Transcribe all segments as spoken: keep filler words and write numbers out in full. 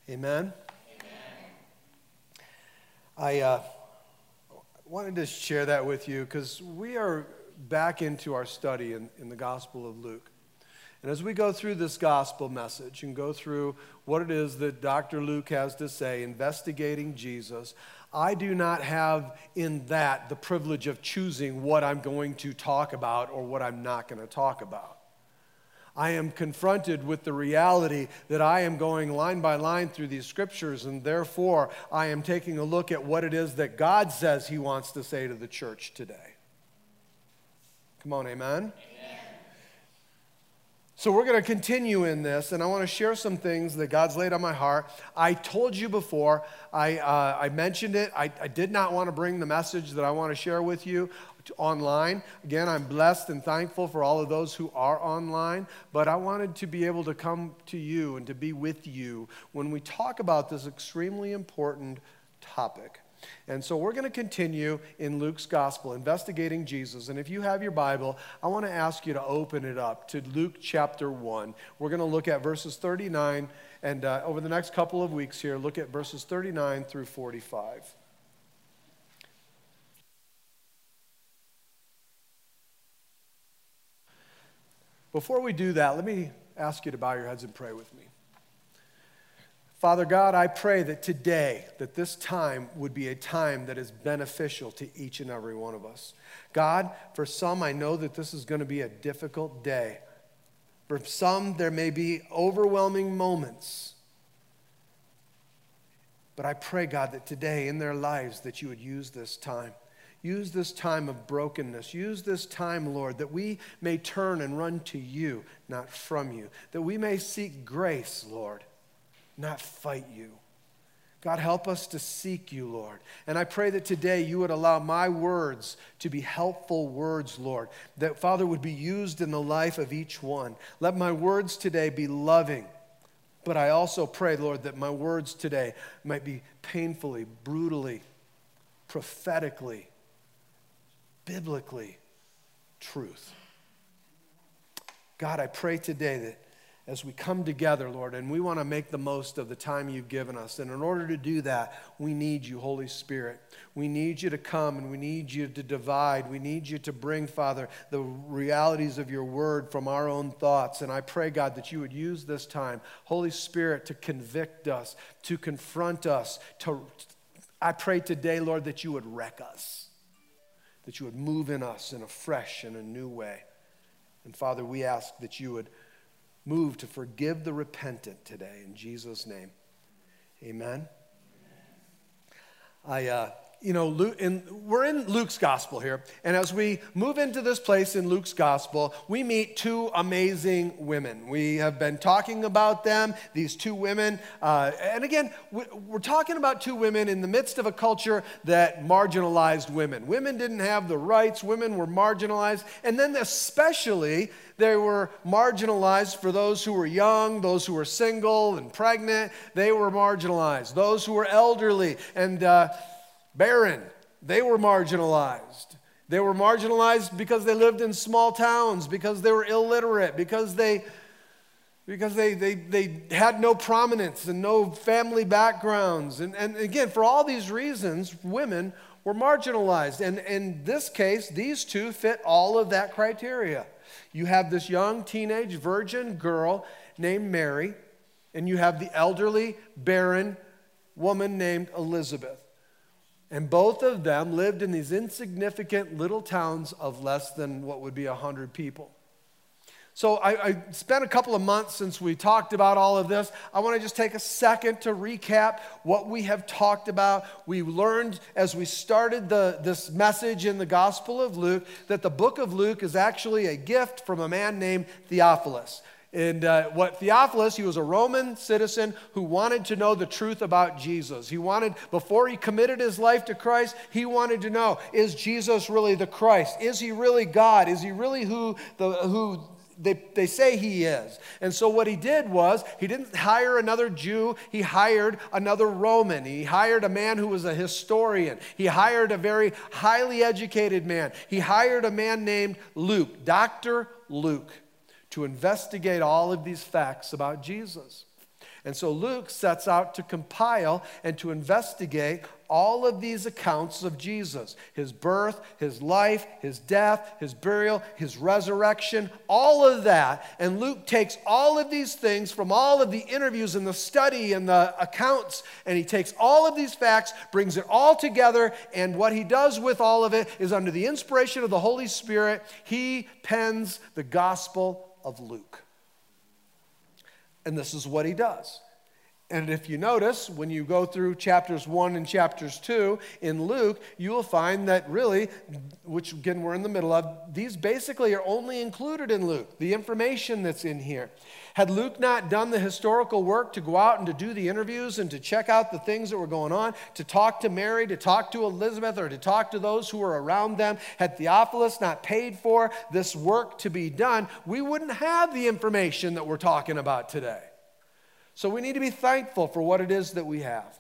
Amen? Amen. I uh, wanted to share that with you because we are back into our study in, in the Gospel of Luke. And as we go through this gospel message and go through what it is that Doctor Luke has to say, investigating Jesus, I do not have in that the privilege of choosing what I'm going to talk about or what I'm not going to talk about. I am confronted with the reality that I am going line by line through these scriptures, and therefore I am taking a look at what it is that God says he wants to say to the church today. Come on, amen? Amen. So we're going to continue in this, and I want to share some things that God's laid on my heart. I told you before, I, uh, I mentioned it, I, I did not want to bring the message that I want to share with you online. Again, I'm blessed and thankful for all of those who are online, but I wanted to be able to come to you and to be with you when we talk about this extremely important topic. And so we're going to continue in Luke's gospel, investigating Jesus. And if you have your Bible, I want to ask you to open it up to Luke chapter one. We're going to look at verses thirty-nine, and uh, over the next couple of weeks here, look at verses thirty-nine through forty-five. Before we do that, let me ask you to bow your heads and pray with me. Father God, I pray that today, that this time would be a time that is beneficial to each and every one of us. God, for some, I know that this is going to be a difficult day. For some, there may be overwhelming moments. But I pray, God, that today in their lives that you would use this time. Use this time of brokenness. Use this time, Lord, that we may turn and run to you, not from you. That we may seek grace, Lord, not fight you. God, help us to seek you, Lord. And I pray that today you would allow my words to be helpful words, Lord. That, Father, would be used in the life of each one. Let my words today be loving. But I also pray, Lord, that my words today might be painfully, brutally, prophetically, biblically truth. God, I pray today that as we come together, Lord, and we want to make the most of the time you've given us, and in order to do that, we need you, Holy Spirit. We need you to come, and we need you to divide. We need you to bring, Father, the realities of your word from our own thoughts. And I pray, God, that you would use this time, Holy Spirit, to convict us, to confront us. To, I pray today, Lord, that you would wreck us. That you would move in us in a fresh and a new way. And Father, we ask that you would move to forgive the repentant today. In Jesus' name, amen. I, uh, you know, Luke, in, we're in Luke's gospel here. And as we move into this place in Luke's gospel, we meet two amazing women. We have been talking about them, these two women. Uh, and again, we're talking about two women in the midst of a culture that marginalized women. Women didn't have the rights. Women were marginalized. And then especially, they were marginalized for those who were young, those who were single and pregnant. They were marginalized. Those who were elderly and uh, barren, they were marginalized. They were marginalized because they lived in small towns, because they were illiterate, because they because they they, they had no prominence and no family backgrounds. And, and again, for all these reasons, women were marginalized. And in this case, these two fit all of that criteria. You have this young teenage virgin girl named Mary, and you have the elderly, barren woman named Elizabeth. And both of them lived in these insignificant little towns of less than what would be one hundred people. So I, I spent a couple of months since we talked about all of this. I want to just take a second to recap what we have talked about. We learned as we started the, this message in the Gospel of Luke that the book of Luke is actually a gift from a man named Theophilus. And uh, what Theophilus, he was a Roman citizen who wanted to know the truth about Jesus. He wanted, before he committed his life to Christ, he wanted to know, is Jesus really the Christ? Is he really God? Is he really who the who they, they say he is? And so what he did was, he didn't hire another Jew, he hired another Roman. He hired a man who was a historian. He hired a very highly educated man. He hired a man named Luke, Doctor Luke, to investigate all of these facts about Jesus. And so Luke sets out to compile and to investigate all of these accounts of Jesus, his birth, his life, his death, his burial, his resurrection, all of that. And Luke takes all of these things from all of the interviews and the study and the accounts, and he takes all of these facts, brings it all together, and what he does with all of it is under the inspiration of the Holy Spirit, he pens the Gospel of Luke. And this is what he does. And if you notice, when you go through chapters one and chapters two in Luke, you will find that really, which again we're in the middle of, these basically are only included in Luke, the information that's in here. Had Luke not done the historical work to go out and to do the interviews and to check out the things that were going on, to talk to Mary, to talk to Elizabeth, or to talk to those who were around them, had Theophilus not paid for this work to be done, we wouldn't have the information that we're talking about today. So we need to be thankful for what it is that we have.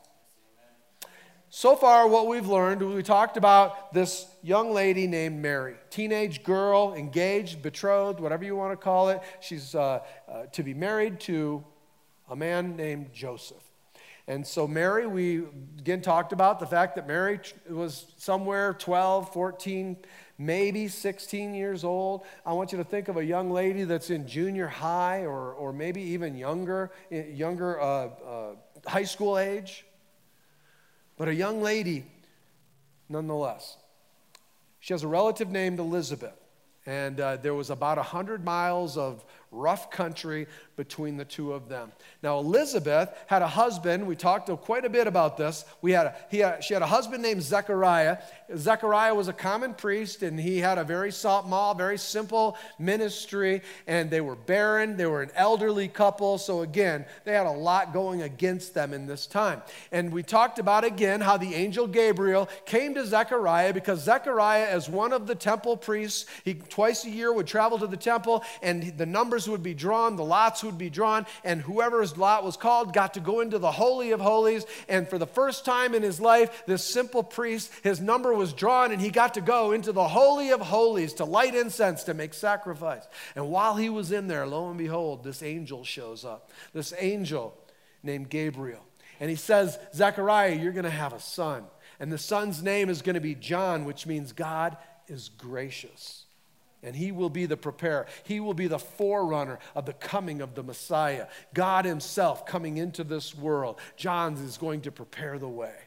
So far, what we've learned, we talked about this young lady named Mary, teenage girl, engaged, betrothed, whatever you want to call it. She's uh, uh, to be married to a man named Joseph. And so Mary, we again talked about the fact that Mary was somewhere twelve, fourteen, maybe sixteen years old. I want you to think of a young lady that's in junior high or, or maybe even younger, younger uh, uh, high school age. But a young lady, nonetheless. She has a relative named Elizabeth. And uh, there was about one hundred miles of rough country between the two of them. Now, Elizabeth had a husband. We talked quite a bit about this. We had a, he had, she had a husband named Zechariah. Zechariah was a common priest, and he had a very small, very simple ministry, and they were barren. They were an elderly couple, so again, they had a lot going against them in this time. And we talked about, again, how the angel Gabriel came to Zechariah because Zechariah, as one of the temple priests, he twice a year would travel to the temple, and the numbers would be drawn, the lots would be drawn, and whoever's lot was called got to go into the Holy of Holies. And for the first time in his life, this simple priest, his number was drawn, and he got to go into the Holy of Holies to light incense, to make sacrifice. And while he was in there, lo and behold, this angel shows up, this angel named Gabriel. And he says, Zechariah, you're going to have a son. And the son's name is going to be John, which means God is gracious. And he will be the preparer. He will be the forerunner of the coming of the Messiah. God himself coming into this world. John is going to prepare the way.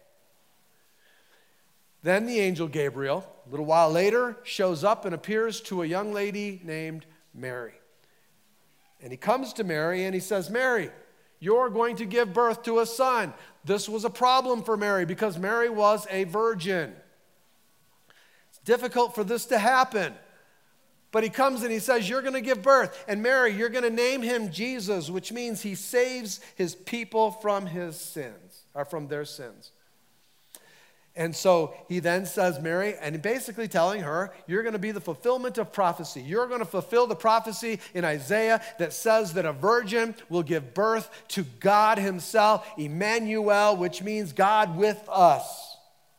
Then the angel Gabriel, a little while later, shows up and appears to a young lady named Mary. And he comes to Mary and he says, Mary, you're going to give birth to a son. This was a problem for Mary because Mary was a virgin. It's difficult for this to happen. But he comes and he says, you're going to give birth. And Mary, you're going to name him Jesus, which means he saves his people from his sins, or from their sins. And so he then says, Mary, and basically telling her, you're going to be the fulfillment of prophecy. You're going to fulfill the prophecy in Isaiah that says that a virgin will give birth to God himself, Emmanuel, which means God with us.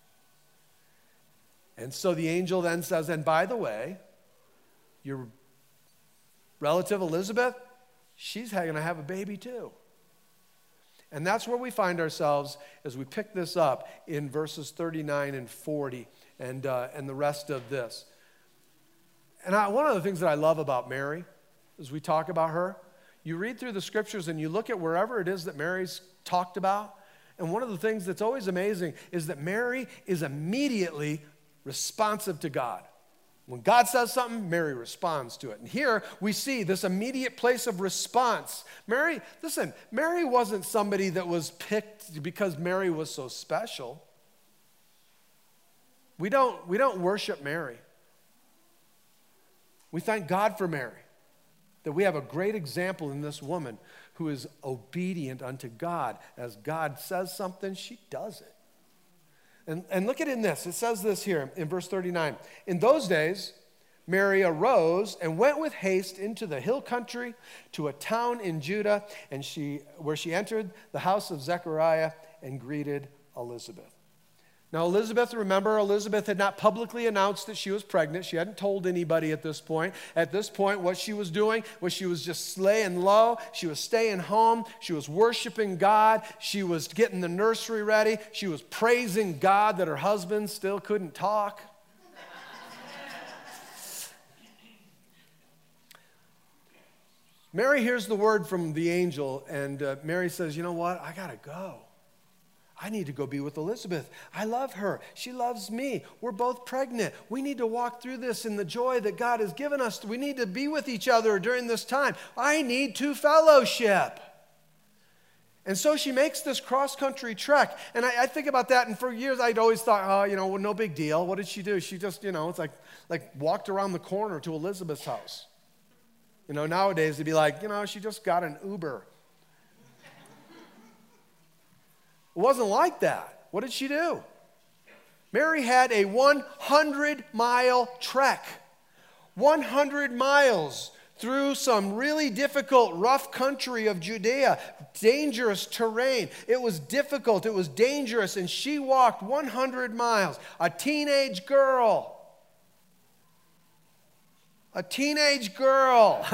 And so the angel then says, and by the way, your relative Elizabeth, she's going to have a baby too. And that's where we find ourselves as we pick this up in verses thirty-nine and forty and, uh, and the rest of this. And I, one of the things that I love about Mary, as we talk about her, you read through the scriptures and you look at wherever it is that Mary's talked about, and one of the things that's always amazing is that Mary is immediately responsive to God. When God says something, Mary responds to it. And here we see this immediate place of response. Mary, listen, Mary wasn't somebody that was picked because Mary was so special. We don't, we don't worship Mary. We thank God for Mary, that we have a great example in this woman who is obedient unto God. As God says something, she does it. And, and look at it in this. It says this here in verse thirty-nine. In those days, Mary arose and went with haste into the hill country to a town in Judah, and she, where she entered the house of Zechariah and greeted Elizabeth. Now, Elizabeth, remember, Elizabeth had not publicly announced that she was pregnant. She hadn't told anybody at this point. At this point, what she was doing was she was just laying low. She was staying home. She was worshiping God. She was getting the nursery ready. She was praising God that her husband still couldn't talk. Mary hears the word from the angel, and uh, Mary says, you know what? I got to go. I need to go be with Elizabeth. I love her. She loves me. We're both pregnant. We need to walk through this in the joy that God has given us. We need to be with each other during this time. I need to fellowship. And so she makes this cross-country trek. And I, I think about that, and for years I'd always thought, oh, you know, well, no big deal. What did she do? She just, you know, it's like, like walked around the corner to Elizabeth's house. You know, nowadays they'd be like, you know, she just got an Uber. It wasn't like that. What did she do? Mary had a one hundred mile trek. one hundred miles through some really difficult, rough country of Judea, dangerous terrain. It was difficult, it was dangerous, and she walked one hundred miles. A teenage girl. A teenage girl.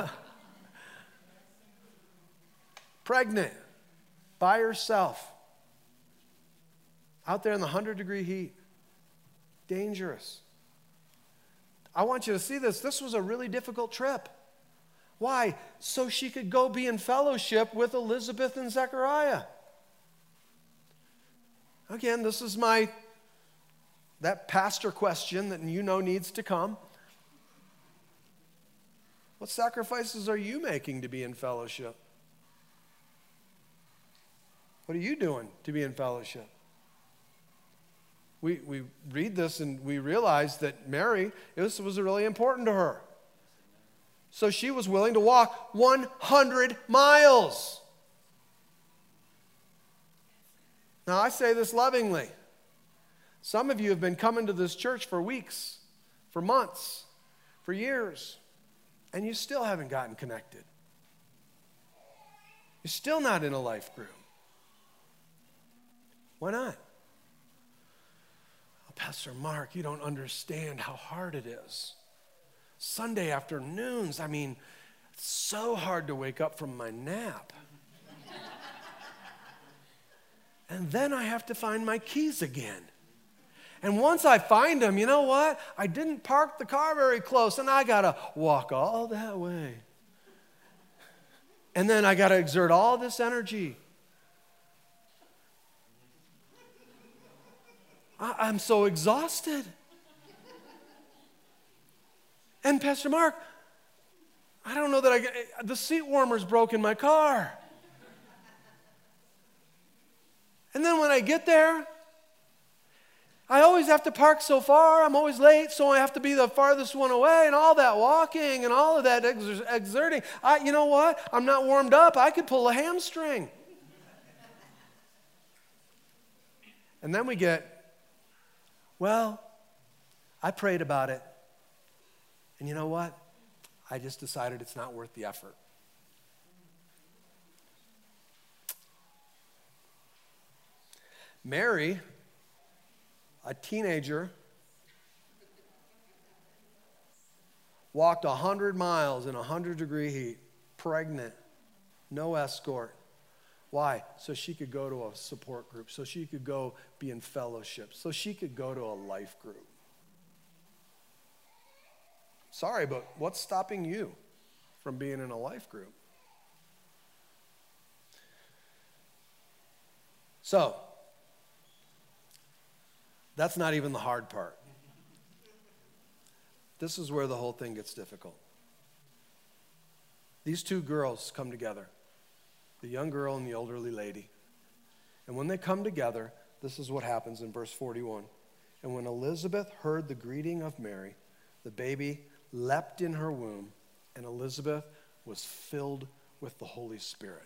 Pregnant. By herself. Out there in the one hundred degree heat. Dangerous. I want you to see this. This was a really difficult trip. Why? So she could go be in fellowship with Elizabeth and Zechariah. Again, this is my, that pastor question that you know needs to come. What sacrifices are you making to be in fellowship? What are you doing to be in fellowship? We, we read this and we realize that Mary, this was really important to her. So she was willing to walk one hundred miles. Now, I say this lovingly. Some of you have been coming to this church for weeks, for months, for years, and you still haven't gotten connected. You're still not in a life group. Why not? Pastor Mark, you don't understand how hard it is. Sunday afternoons, I mean, it's so hard to wake up from my nap. And then I have to find my keys again. And once I find them, you know what? I didn't park the car very close, and I got to walk all that way. And then I got to exert all this energy. I'm so exhausted. And Pastor Mark, I don't know that I get, the seat warmer's broke in my car. And then when I get there, I always have to park so far. I'm always late, so I have to be the farthest one away, and all that walking and all of that exer- exerting. I, you know what? I'm not warmed up. I could pull a hamstring. And then we get, well, I prayed about it, and you know what? I just decided it's not worth the effort. Mary, a teenager, walked one hundred miles in one hundred degree heat, pregnant, no escort. Why? So she could go to a support group, so she could go be in fellowship, so she could go to a life group. Sorry, but what's stopping you from being in a life group? So, that's not even the hard part. This is where the whole thing gets difficult. These two girls come together. The young girl and the elderly lady. And when they come together, this is what happens in verse forty-one. And when Elizabeth heard the greeting of Mary, the baby leapt in her womb, and Elizabeth was filled with the Holy Spirit.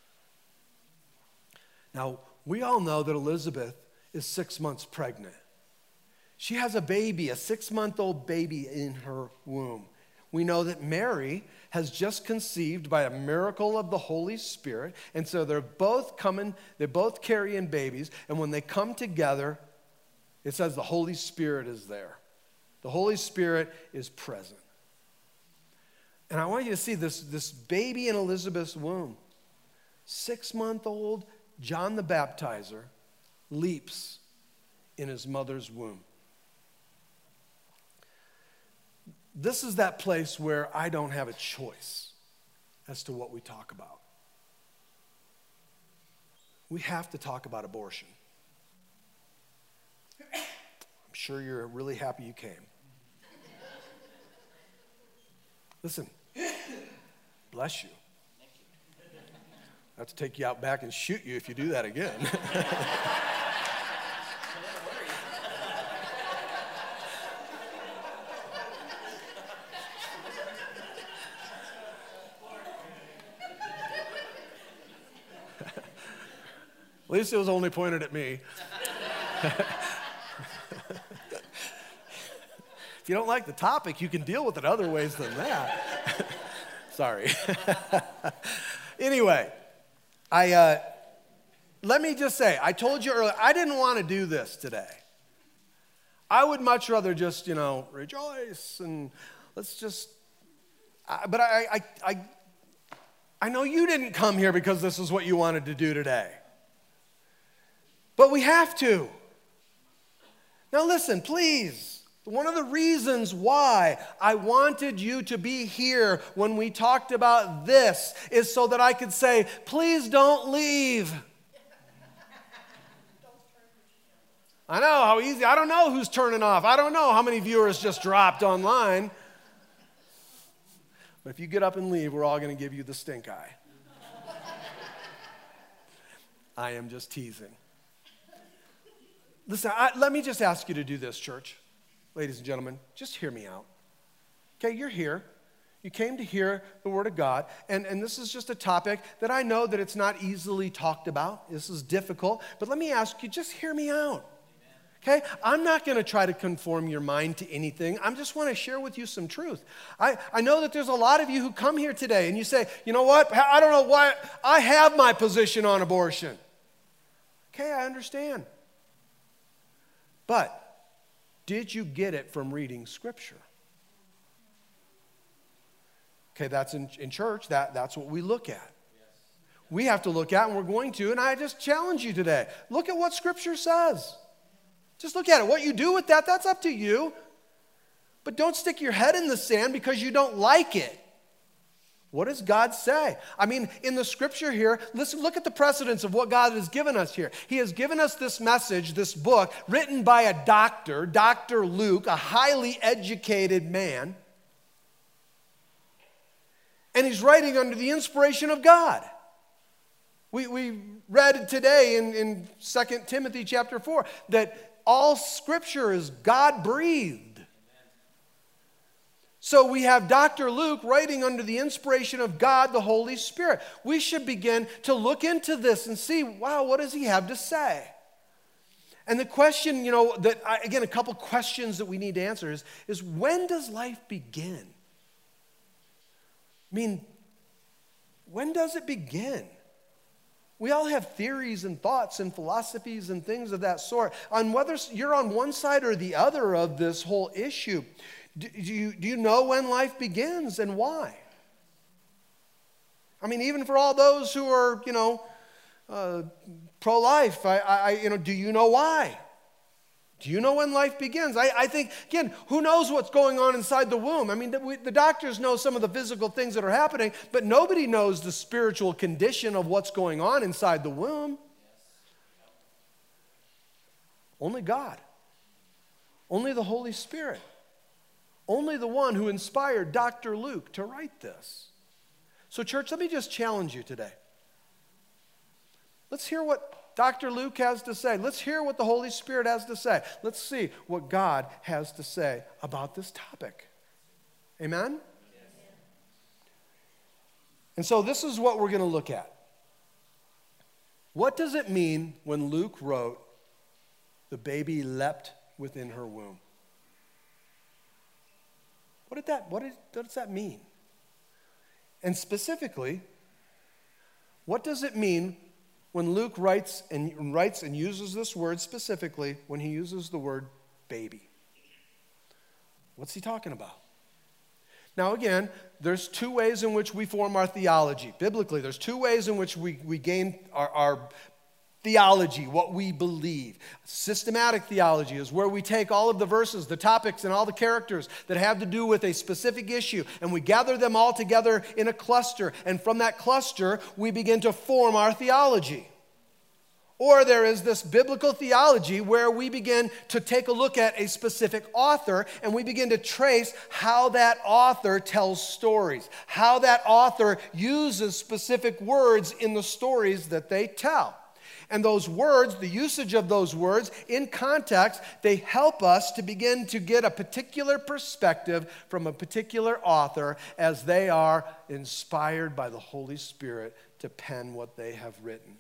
Now, we all know that Elizabeth is six months pregnant. She has a baby, a six-month-old baby in her womb. We know that Mary has just conceived by a miracle of the Holy Spirit. And so they're both coming, they're both carrying babies. And when they come together, it says the Holy Spirit is there. The Holy Spirit is present. And I want you to see this, this baby in Elizabeth's womb, six-month-old John the Baptizer leaps in his mother's womb. This is that place where I don't have a choice as to what we talk about. We have to talk about abortion. I'm sure you're really happy you came. Listen, bless you. I have to take you out back and shoot you if you do that again. At least it was only pointed at me. If you don't like the topic, you can deal with it other ways than that. Sorry. Anyway, I uh, let me just say, I told you earlier, I didn't want to do this today. I would much rather just, you know, rejoice and let's just, uh, but I, I, I, I know you didn't come here because this is what you wanted to do today. But we have to. Now listen, please. One of the reasons why I wanted you to be here when we talked about this is so that I could say, please don't leave. I know how easy. I don't know who's turning off. I don't know how many viewers just dropped online. But if you get up and leave, we're all going to give you the stink eye. I am just teasing. Listen, I, let me just ask you to do this, church. Ladies and gentlemen, just hear me out. Okay, you're here. You came to hear the Word of God, and, and this is just a topic that I know that it's not easily talked about. This is difficult, but let me ask you, just hear me out. Okay, I'm not going to try to conform your mind to anything. I just want to share with you some truth. I, I know that there's a lot of you who come here today, and you say, you know what, I don't know why, I have my position on abortion. Okay, I understand. But did you get it from reading Scripture? Okay, that's in, in church. That, that's what we look at. Yes. We have to look at, and we're going to, and I just challenge you today. Look at what Scripture says. Just look at it. What you do with that, that's up to you. But don't stick your head in the sand because you don't like it. What does God say? I mean, in the Scripture here, listen, look at the precedence of what God has given us here. He has given us this message, this book, written by a doctor, Doctor Luke, a highly educated man. And he's writing under the inspiration of God. We, we read today in, in Second Timothy chapter four that all Scripture is God-breathed. So we have Doctor Luke writing under the inspiration of God, the Holy Spirit. We should begin to look into this and see, wow, what does he have to say? And the question, you know, that I, again, a couple questions that we need to answer is, is when does life begin? I mean, when does it begin? We all have theories and thoughts and philosophies and things of that sort on whether you're on one side or the other of this whole issue. Do you, do you know when life begins and why? I mean, even for all those who are, you know, uh, pro-life, I, I, you know, do you know why? Do you know when life begins? I, I think, again, who knows what's going on inside the womb? I mean, the, we, the doctors know some of the physical things that are happening, but nobody knows the spiritual condition of what's going on inside the womb. Only God. Only the Holy Spirit. Only the one who inspired Doctor Luke to write this. So, church, let me just challenge you today. Let's hear what Doctor Luke has to say. Let's hear what the Holy Spirit has to say. Let's see what God has to say about this topic. Amen? Yes. And so this is what we're going to look at. What does it mean when Luke wrote, the baby leapt within her womb? What did that, what, did, what does that mean? And specifically, what does it mean when Luke writes and writes and uses this word specifically, when he uses the word baby. What's he talking about? Now again, there's two ways in which we form our theology. Biblically, there's two ways in which we, we gain our, our theology, what we believe. Systematic theology is where we take all of the verses, the topics, and all the characters that have to do with a specific issue, and we gather them all together in a cluster, and from that cluster, we begin to form our theology. Or there is this biblical theology where we begin to take a look at a specific author and we begin to trace how that author tells stories, how that author uses specific words in the stories that they tell. And those words, the usage of those words in context, they help us to begin to get a particular perspective from a particular author as they are inspired by the Holy Spirit to pen what they have written.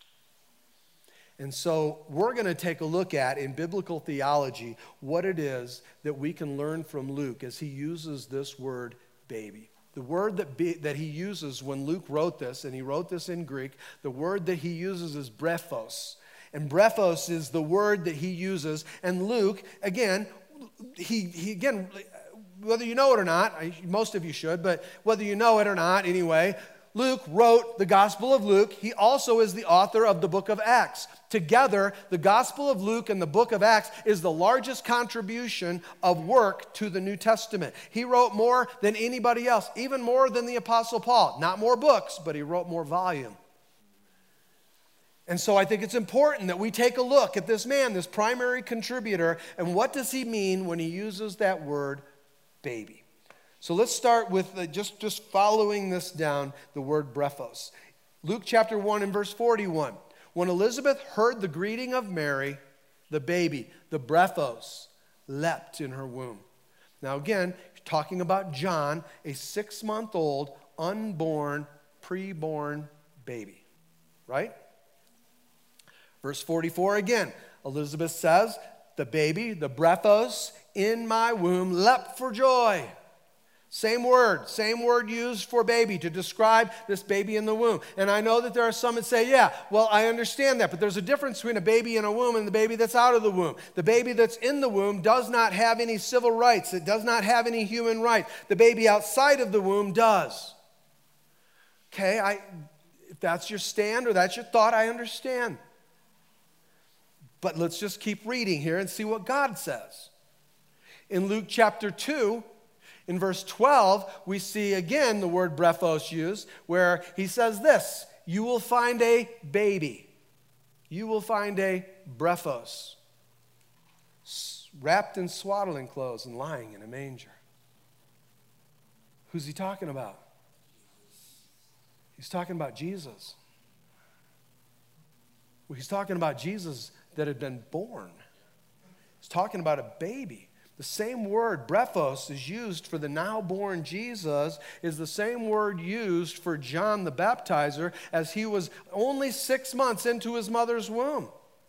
And so we're going to take a look at, in biblical theology, what it is that we can learn from Luke as he uses this word baby. The word that, be, that he uses when Luke wrote this, and he wrote this in Greek, the word that he uses is brephos. And brephos is the word that he uses. And Luke, again, he, he again, whether you know it or not, most of you should, but whether you know it or not, anyway, Luke wrote the Gospel of Luke. He also is the author of the book of Acts. Together, the Gospel of Luke and the book of Acts is the largest contribution of work to the New Testament. He wrote more than anybody else, even more than the Apostle Paul. Not more books, but he wrote more volume. And so I think it's important that we take a look at this man, this primary contributor, and what does he mean when he uses that word baby? So let's start with uh, just, just following this down, the word brephos. Luke chapter one and verse forty-one. When Elizabeth heard the greeting of Mary, the baby, the brephos, leapt in her womb. Now again, talking about John, a six-month-old, unborn, preborn baby. Right? Verse forty-four again. Elizabeth says, the baby, the brephos, in my womb leapt for joy. Same word, same word used for baby to describe this baby in the womb. And I know that there are some that say, yeah, well, I understand that, but there's a difference between a baby in a womb and the baby that's out of the womb. The baby that's in the womb does not have any civil rights. It does not have any human rights. The baby outside of the womb does. Okay, I, if that's your stand or that's your thought, I understand. But let's just keep reading here and see what God says. In Luke chapter two, in verse twelve, we see again the word brephos used, where he says this, you will find a baby. You will find a brephos, wrapped in swaddling clothes and lying in a manger. Who's he talking about? He's talking about Jesus. Well, he's talking about Jesus that had been born. He's talking about a baby. The same word, brephos, is used for the now-born Jesus, is the same word used for John the Baptizer as he was only six months into his mother's womb.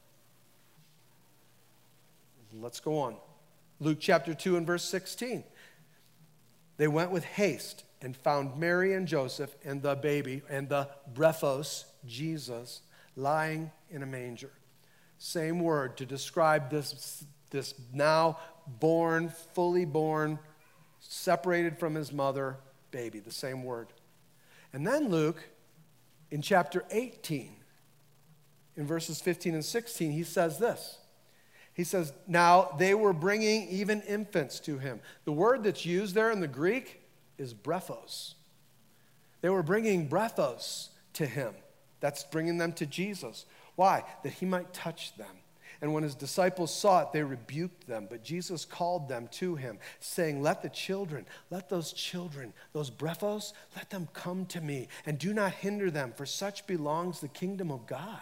Let's go on. Luke chapter two and verse sixteen. They went with haste and found Mary and Joseph and the baby and the brephos, Jesus, lying in a manger. Same word to describe this, this now born, fully born, separated from his mother, baby, the same word. And then Luke, in chapter eighteen, in verses fifteen and sixteen, he says this. He says, now they were bringing even infants to him. The word that's used there in the Greek is brephos. They were bringing brephos to him. That's bringing them to Jesus. Why? That he might touch them. And when his disciples saw it, they rebuked them. But Jesus called them to him, saying, let the children, let those children, those brephos, let them come to me, and do not hinder them, for such belongs the kingdom of God.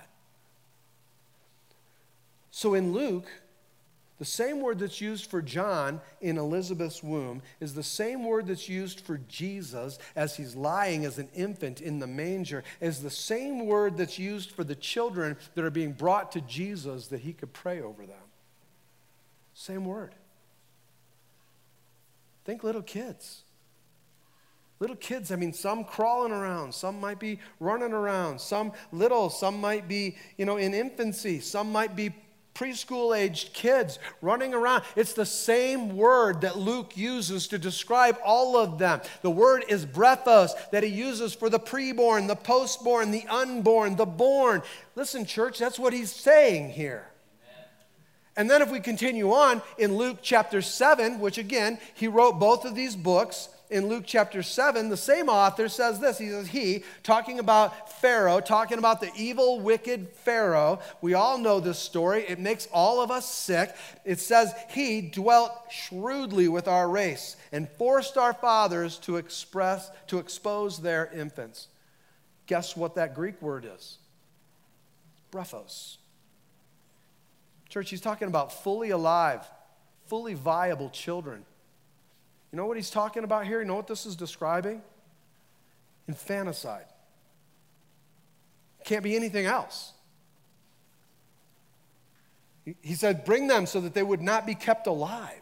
So in Luke, the same word that's used for John in Elizabeth's womb is the same word that's used for Jesus as he's lying as an infant in the manger, is the same word that's used for the children that are being brought to Jesus that he could pray over them. Same word. Think little kids. Little kids, I mean, some crawling around, some might be running around, some little, some might be, you know, in infancy, some might be preschool-aged kids running around. It's the same word that Luke uses to describe all of them. The word is brephos, that he uses for the preborn, the postborn, the unborn, the born. Listen, church, that's what he's saying here. Amen. And then if we continue on in Luke chapter seven, which again, he wrote both of these books. In Luke chapter seven, the same author says this. He says, he, talking about Pharaoh, talking about the evil, wicked Pharaoh. We all know this story. It makes all of us sick. It says, he dwelt shrewdly with our race and forced our fathers to express, to expose their infants. Guess what that Greek word is? Brephos. Church, he's talking about fully alive, fully viable children. You know what he's talking about here? You know what this is describing? Infanticide. Can't be anything else. He said, bring them so that they would not be kept alive.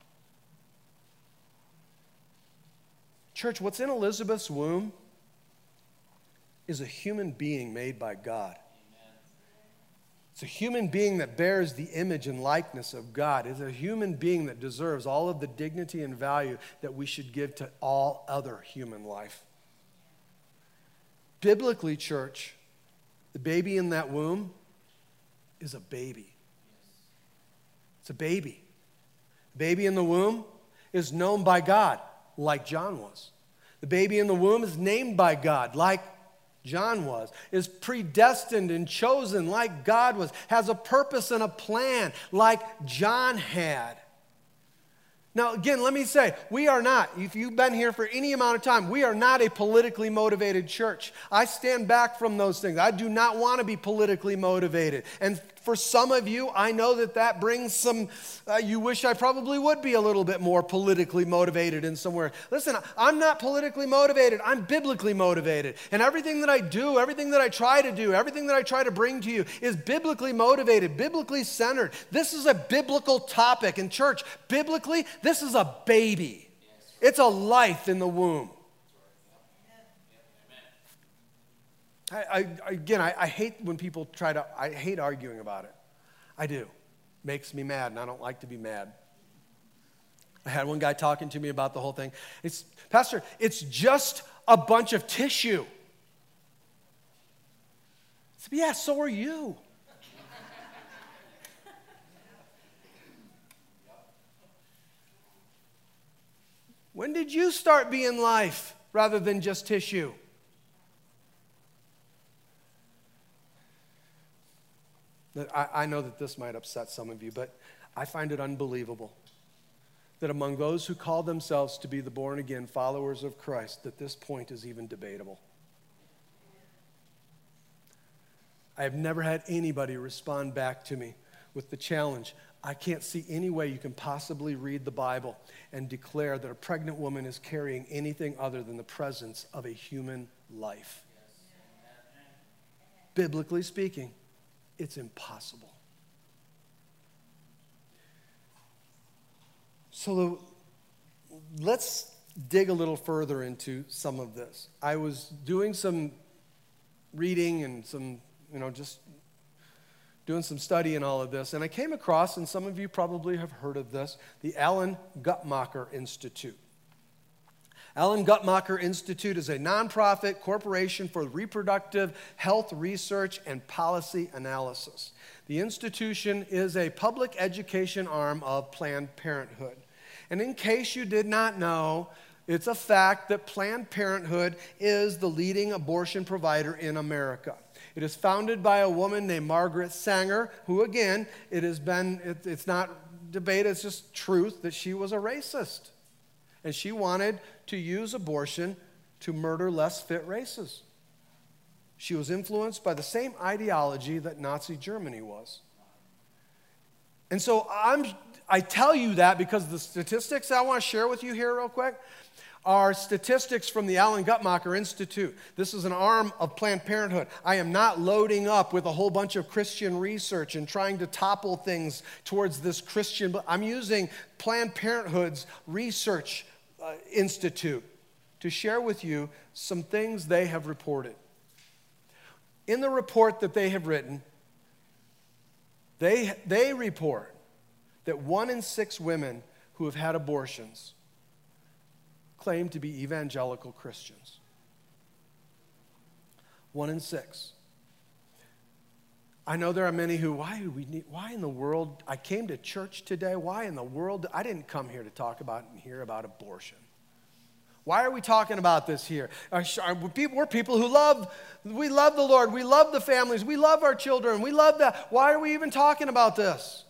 Church, what's in Elizabeth's womb is a human being made by God. It's a human being that bears the image and likeness of God. It's a human being that deserves all of the dignity and value that we should give to all other human life. Biblically, church, the baby in that womb is a baby. It's a baby. The baby in the womb is known by God, like John was. The baby in the womb is named by God, like John was, is predestined and chosen like God was, has a purpose and a plan like John had. Now, again, let me say, we are not, if you've been here for any amount of time, we are not a politically motivated church. I stand back from those things. I do not want to be politically motivated. And for some of you, I know that that brings some, uh, you wish I probably would be a little bit more politically motivated in somewhere. Listen, I'm not politically motivated. I'm biblically motivated. And everything that I do, everything that I try to do, everything that I try to bring to you is biblically motivated, biblically centered. This is a biblical topic. And church, biblically, this is a baby. It's a life in the womb. I, I, again, I, I hate when people try to, I hate arguing about it. I do. Makes me mad, and I don't like to be mad. I had one guy talking to me about the whole thing. It's, Pastor, it's just a bunch of tissue. I said, yeah, so are you. When did you start being life rather than just tissue? I, I know that this might upset some of you, but I find it unbelievable that among those who call themselves to be the born-again followers of Christ, that this point is even debatable. I have never had anybody respond back to me with the challenge, I can't see any way you can possibly read the Bible and declare that a pregnant woman is carrying anything other than the presence of a human life. Biblically speaking, it's impossible. So the, let's dig a little further into some of this. I was doing some reading and some, you know, just doing some study in all of this, and I came across, and some of you probably have heard of this, the Alan Guttmacher Institute. Alan Guttmacher Institute is a nonprofit corporation for reproductive health research and policy analysis. The institution is a public education arm of Planned Parenthood. And in case you did not know, it's a fact that Planned Parenthood is the leading abortion provider in America. It is founded by a woman named Margaret Sanger, who again, it has been, it, it's not debate, it's just truth, that she was a racist. And she wanted to use abortion to murder less fit races. She was influenced by the same ideology that Nazi Germany was. And so I'm, I tell you that because the statistics I want to share with you here real quick are statistics from the Alan Guttmacher Institute. This is an arm of Planned Parenthood. I am not loading up with a whole bunch of Christian research and trying to topple things towards this Christian, but I'm using Planned Parenthood's research uh, institute to share with you some things they have reported. In the report that they have written, they, they report that one in six women who have had abortions claim to be evangelical Christians. One in six. I know there are many who, why do we need, why in the world, I came to church today, why in the world, I didn't come here to talk about and hear about abortion. Why are we talking about this here? We're people who love, we love the Lord, we love the families, we love our children, we love that. Why are we even talking about this?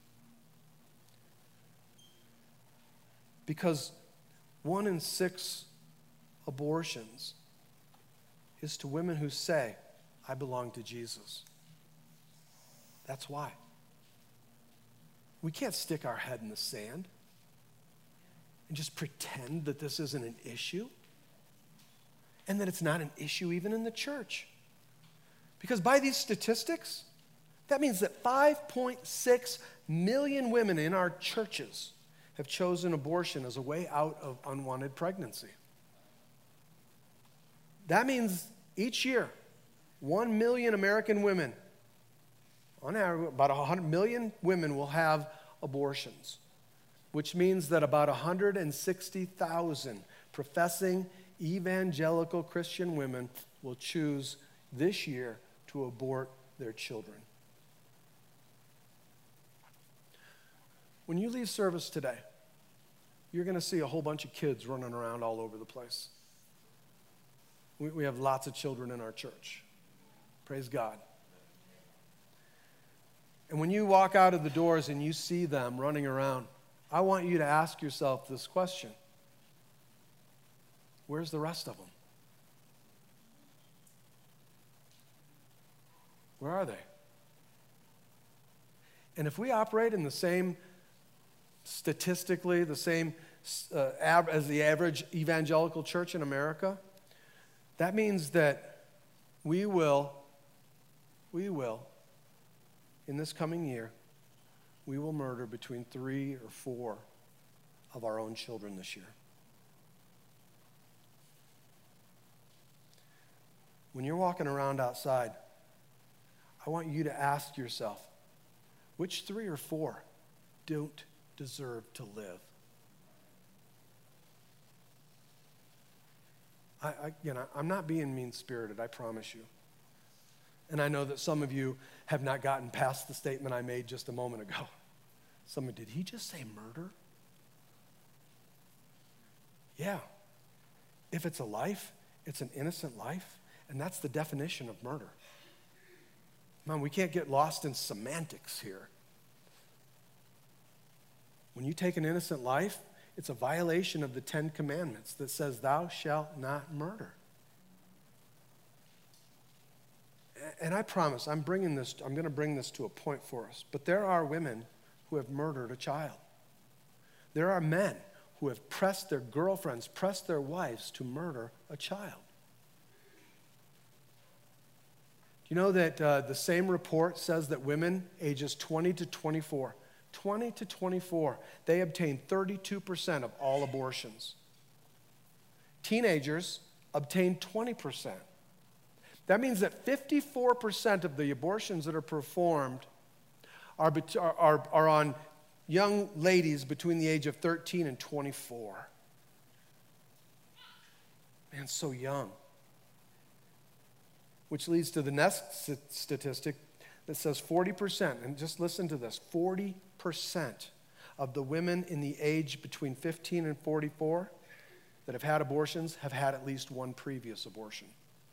Because one in six abortions is to women who say, I belong to Jesus. That's why. We can't stick our head in the sand and just pretend that this isn't an issue and that it's not an issue even in the church. Because by these statistics, that means that five point six million women in our churches have chosen abortion as a way out of unwanted pregnancy. That means each year, one million American women, on average, about one hundred million women will have abortions, which means that about one hundred sixty thousand professing evangelical Christian women will choose this year to abort their children. When you leave service today, you're going to see a whole bunch of kids running around all over the place. We, we have lots of children in our church. Praise God. And when you walk out of the doors and you see them running around, I want you to ask yourself this question. Where's the rest of them? Where are they? And if we operate in the same, statistically, the same uh, av- as the average evangelical church in America, that means that we will, we will, in this coming year, we will murder between three or four of our own children this year. When you're walking around outside, I want you to ask yourself, which three or four don't deserve to live? I, I, you know, I'm not being mean-spirited, I promise you. And I know that some of you have not gotten past the statement I made just a moment ago. Someone, did he just say murder? Yeah. If it's a life, it's an innocent life, and that's the definition of murder. Man, we can't get lost in semantics here. When you take an innocent life, it's a violation of the Ten Commandments that says, thou shalt not murder. And I promise, I'm bringing this, I'm going to bring this to a point for us. But there are women who have murdered a child. There are men who have pressed their girlfriends, pressed their wives to murder a child. You know that uh, the same report says that women ages twenty to twenty-four, twenty to twenty-four, they obtain thirty-two percent of all abortions. Teenagers obtain twenty percent. That means that fifty-four percent of the abortions that are performed are, are, are on young ladies between the age of thirteen and twenty-four. Man, so young. Which leads to the next statistic that says forty percent, and just listen to this, forty percent of the women in the age between fifteen and forty-four that have had abortions have had at least one previous abortion.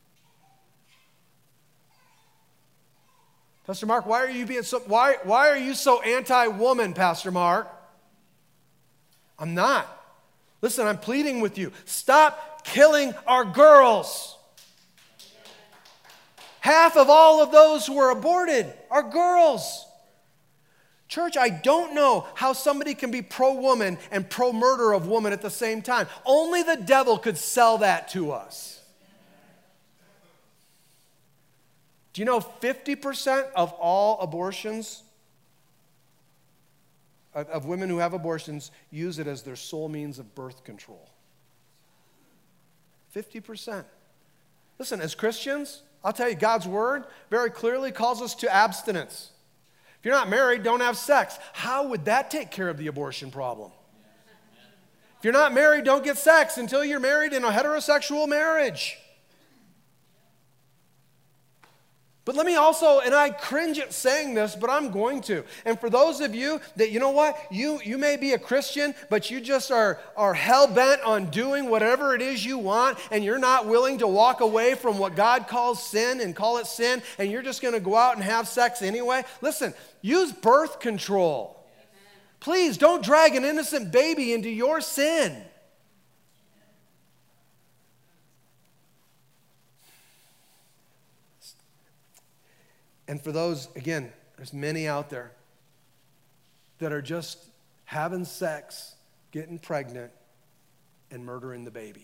Pastor Mark, why are you being so why why are you so anti-woman, Pastor Mark? I'm not. Listen, I'm pleading with you. Stop killing our girls. Half of all of those who were aborted are girls. Church, I don't know how somebody can be pro-woman and pro-murder of woman at the same time. Only the devil could sell that to us. Do you know fifty percent of all abortions, of, of women who have abortions, use it as their sole means of birth control? fifty percent. Listen, as Christians, I'll tell you, God's word very clearly calls us to abstinence. If you're not married, don't have sex. How would that take care of the abortion problem? If you're not married, don't get sex until you're married in a heterosexual marriage. But let me also, and I cringe at saying this, but I'm going to. And for those of you that, you know what, you, you may be a Christian, but you just are, are hell-bent on doing whatever it is you want, and you're not willing to walk away from what God calls sin and call it sin, and you're just going to go out and have sex anyway. Listen, use birth control. Please don't drag an innocent baby into your sin. And for those, again, there's many out there that are just having sex, getting pregnant, and murdering the baby.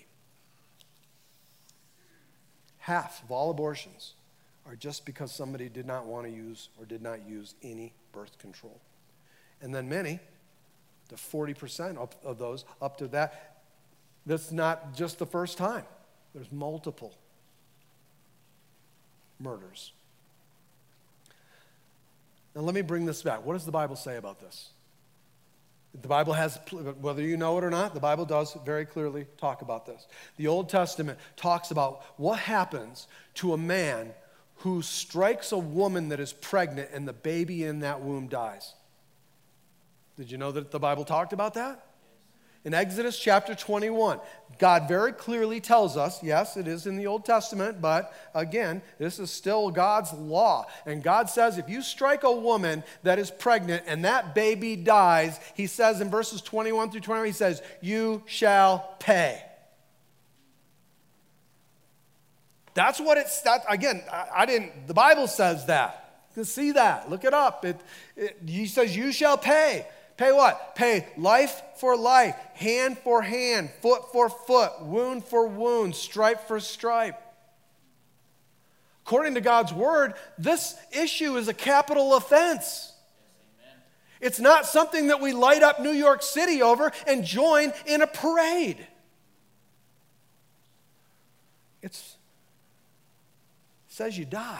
Half of all abortions are just because somebody did not want to use or did not use any birth control. And then many, the forty percent of, of those, up to that, that's not just the first time. There's multiple murders. Now let me bring this back. What does the Bible say about this? The Bible has, whether you know it or not, the Bible does very clearly talk about this. The Old Testament talks about what happens to a man who strikes a woman that is pregnant and the baby in that womb dies. Did you know that the Bible talked about that? In Exodus chapter twenty-one, God very clearly tells us, yes, it is in the Old Testament, but again, this is still God's law. And God says if you strike a woman that is pregnant and that baby dies, he says in verses twenty-one through twenty-one, he says, you shall pay. That's what it's, that, again, I, I didn't, the Bible says that. You can see that. Look it up. It, it, he says, you shall pay. Pay what? Pay life for life, hand for hand, foot for foot, wound for wound, stripe for stripe. According to God's word, this issue is a capital offense. Yes, it's not something that we light up New York City over and join in a parade. It's, it says you die.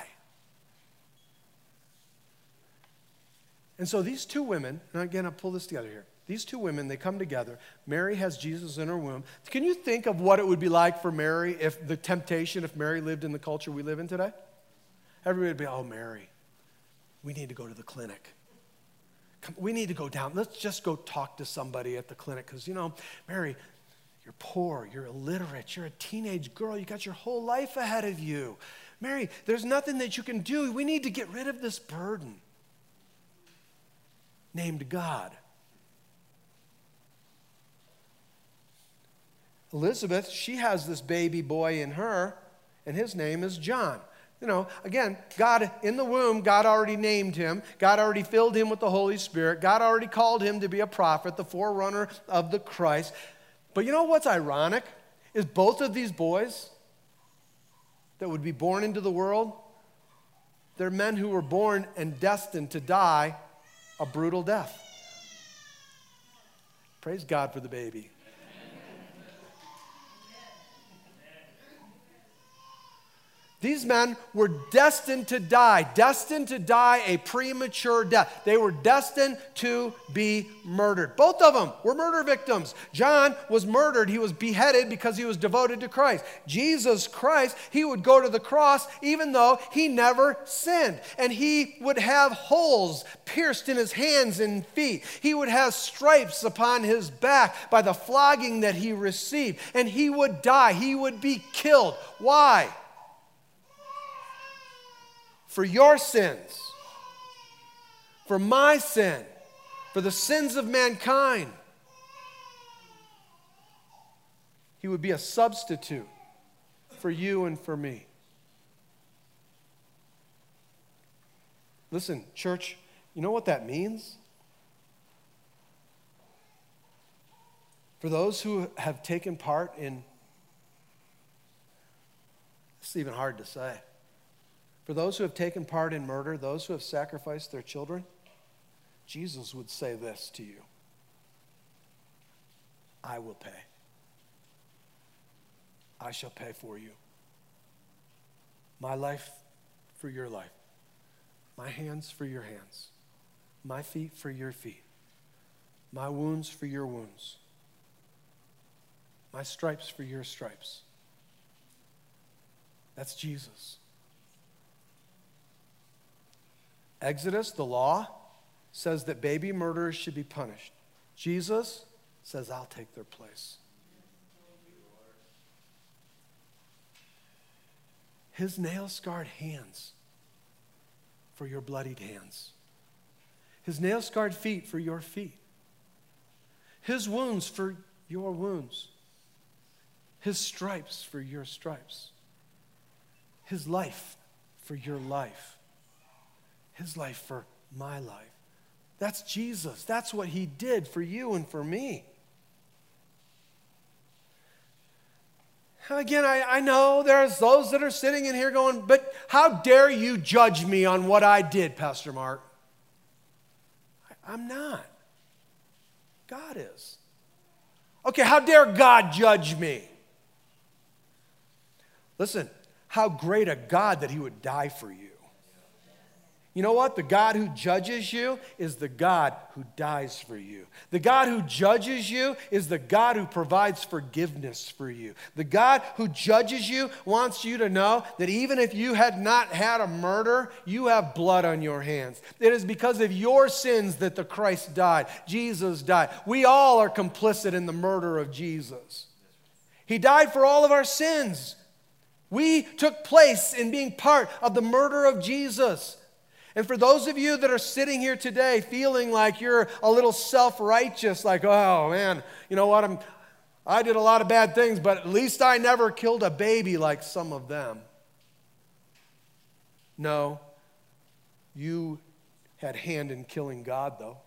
And so these two women, and again, I'll pull this together here. These two women, they come together. Mary has Jesus in her womb. Can you think of what it would be like for Mary if the temptation, if Mary lived in the culture we live in today? Everybody would be, oh, Mary, we need to go to the clinic. Come, we need to go down. Let's just go talk to somebody at the clinic because, you know, Mary, you're poor, you're illiterate, you're a teenage girl, you got your whole life ahead of you. Mary, there's nothing that you can do. We need to get rid of this burden named God. Elizabeth, she has this baby boy in her, and his name is John. You know, again, God in the womb, God already named him. God already filled him with the Holy Spirit. God already called him to be a prophet, the forerunner of the Christ. But you know what's ironic? Is both of these boys that would be born into the world, they're men who were born and destined to die a brutal death. Praise God for the baby. These men were destined to die, destined to die a premature death. They were destined to be murdered. Both of them were murder victims. John was murdered. He was beheaded because he was devoted to Christ. Jesus Christ, he would go to the cross even though he never sinned. And he would have holes pierced in his hands and feet. He would have stripes upon his back by the flogging that he received. And he would die. He would be killed. Why? For your sins, for my sin, for the sins of mankind. He would be a substitute for you and for me. Listen, church, you know what that means? For those who have taken part in, it's even hard to say. For those who have taken part in murder, those who have sacrificed their children, Jesus would say this to you: I will pay. I shall pay for you. My life for your life. My hands for your hands. My feet for your feet. My wounds for your wounds. My stripes for your stripes. That's Jesus. Exodus, the law, says that baby murderers should be punished. Jesus says, I'll take their place. His nail-scarred hands for your bloodied hands. His nail-scarred feet for your feet. His wounds for your wounds. His stripes for your stripes. His life for your life. His life for my life. That's Jesus. That's what he did for you and for me. Again, I, I know there's those that are sitting in here going, but how dare you judge me on what I did, Pastor Mark? I, I'm not. God is. Okay, how dare God judge me? Listen, how great a God that he would die for you. You know what? The God who judges you is the God who dies for you. The God who judges you is the God who provides forgiveness for you. The God who judges you wants you to know that even if you had not had a murder, you have blood on your hands. It is because of your sins that the Christ died. Jesus died. We all are complicit in the murder of Jesus. He died for all of our sins. We took place in being part of the murder of Jesus. And for those of you that are sitting here today feeling like you're a little self-righteous, like, oh man, you know what, I'm, I did a lot of bad things, but at least I never killed a baby like some of them. No, you had hand in killing God, though.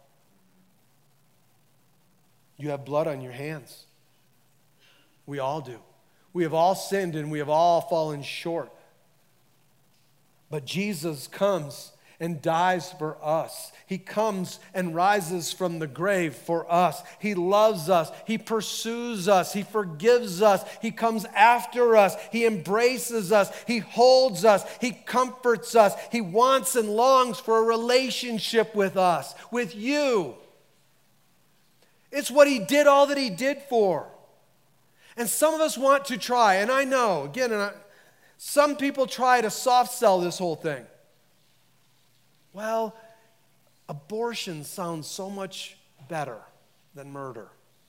You have blood on your hands. We all do. We have all sinned and we have all fallen short. But Jesus comes and dies for us. He comes and rises from the grave for us. He loves us. He pursues us. He forgives us. He comes after us. He embraces us. He holds us. He comforts us. He wants and longs for a relationship with us, with you. It's what he did, all that he did for. And some of us want to try, and I know, again, and I, some people try to soft sell this whole thing. Well, abortion sounds so much better than murder.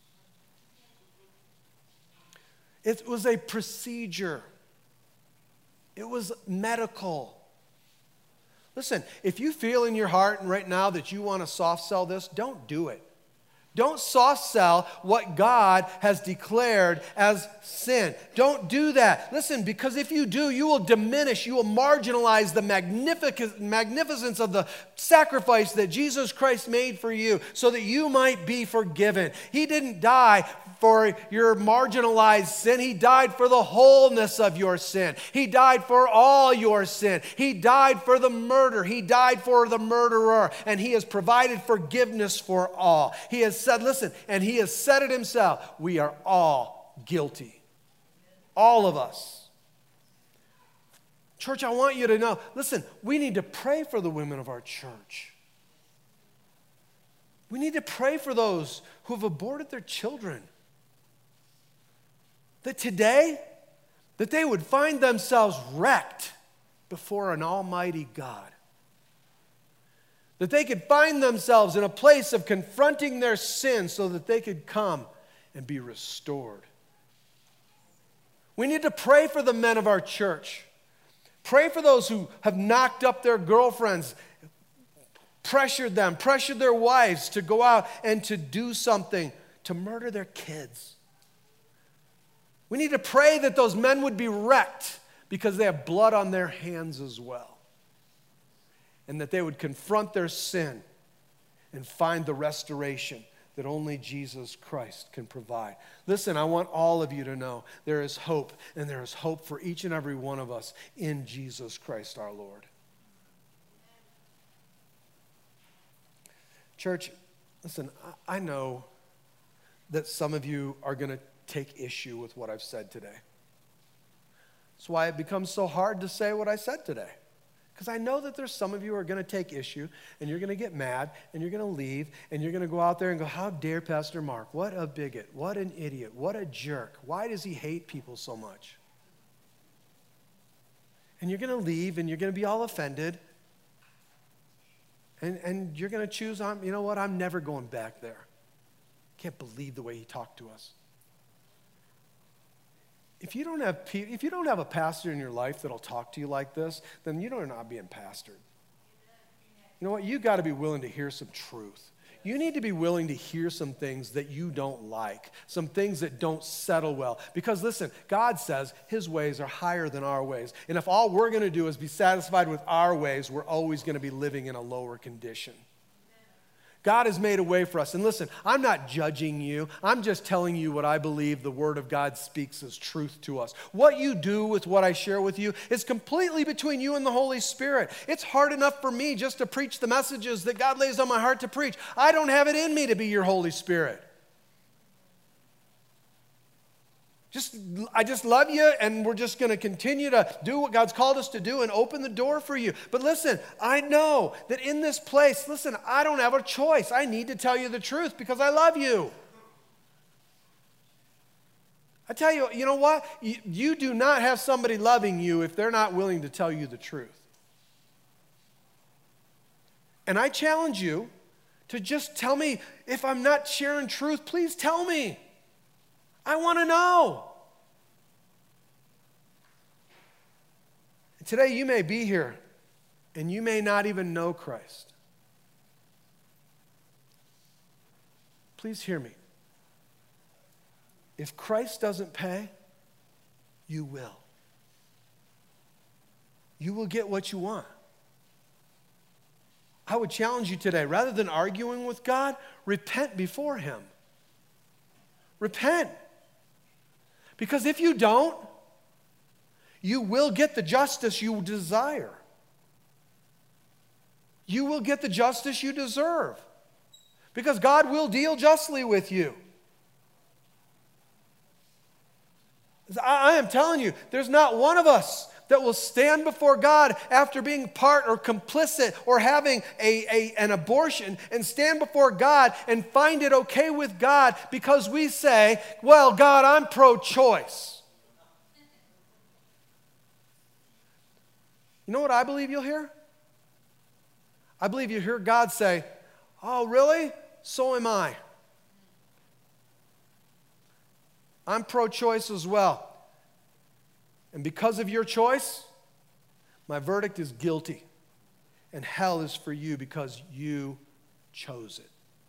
It was a procedure. It was medical. Listen, if you feel in your heart right now that you want to soft sell this, don't do it. Don't soft sell what God has declared as sin. Don't do that. Listen, because if you do, you will diminish, you will marginalize the magnific- magnificence of the sacrifice that Jesus Christ made for you so that you might be forgiven. He didn't die for your marginalized sin. He died for the wholeness of your sin. He died for all your sin. He died for the murder. He died for the murderer. And he has provided forgiveness for all. He has said, listen, and he has said it himself, we are all guilty. All of us. Church, I want you to know, listen, we need to pray for the women of our church. We need to pray for those who have aborted their children. That today, that they would find themselves wrecked before an almighty God. That they could find themselves in a place of confronting their sin so that they could come and be restored. We need to pray for the men of our church. Pray for those who have knocked up their girlfriends, pressured them, pressured their wives to go out and to do something, to murder their kids. We need to pray that those men would be wrecked because they have blood on their hands as well. And that they would confront their sin and find the restoration that only Jesus Christ can provide. Listen, I want all of you to know there is hope, and there is hope for each and every one of us in Jesus Christ our Lord. Church, listen, I know that some of you are going to take issue with what I've said today. That's why it becomes so hard to say what I said today. Because I know that there's some of you who are going to take issue, and you're going to get mad, and you're going to leave, and you're going to go out there and go, how dare Pastor Mark? What a bigot. What an idiot. What a jerk. Why does he hate people so much? And you're going to leave, and you're going to be all offended, and, and you're going to choose, I'm, you know what, I'm never going back there. Can't believe the way he talked to us. If you don't have if you don't have a pastor in your life that'll talk to you like this, then you're not being pastored. You know what? You got to be willing to hear some truth. You need to be willing to hear some things that you don't like, some things that don't settle well. Because listen, God says his ways are higher than our ways. And if all we're going to do is be satisfied with our ways, we're always going to be living in a lower condition. God has made a way for us. And listen, I'm not judging you. I'm just telling you what I believe the Word of God speaks as truth to us. What you do with what I share with you is completely between you and the Holy Spirit. It's hard enough for me just to preach the messages that God lays on my heart to preach. I don't have it in me to be your Holy Spirit. Just, I just love you, and we're just going to continue to do what God's called us to do and open the door for you. But listen, I know that in this place, listen, I don't have a choice. I need to tell you the truth because I love you. I tell you, you know what? You, you do not have somebody loving you if they're not willing to tell you the truth. And I challenge you to just tell me, if I'm not sharing truth, please tell me. I want to know. Today you may be here and you may not even know Christ. Please hear me. If Christ doesn't pay, you will. You will get what you want. I would challenge you today, rather than arguing with God, repent before him. Repent. Because if you don't, you will get the justice you desire. You will get the justice you deserve. Because God will deal justly with you. I am telling you, there's not one of us that will stand before God after being part or complicit or having a, a, an abortion and stand before God and find it okay with God because we say, well, God, I'm pro-choice. You know what I believe you'll hear? I believe you hear God say, oh, really? So am I. I'm pro-choice as well. And because of your choice, my verdict is guilty. And hell is for you because you chose it.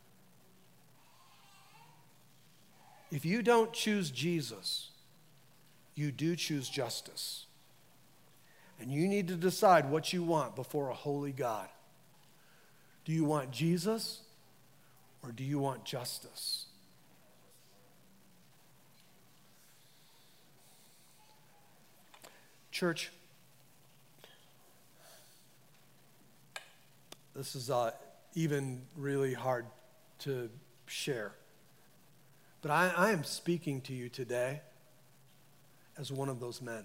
If you don't choose Jesus, you do choose justice. And you need to decide what you want before a holy God. Do you want Jesus or do you want justice? Church, this is uh, even really hard to share. But I, I am speaking to you today as one of those men.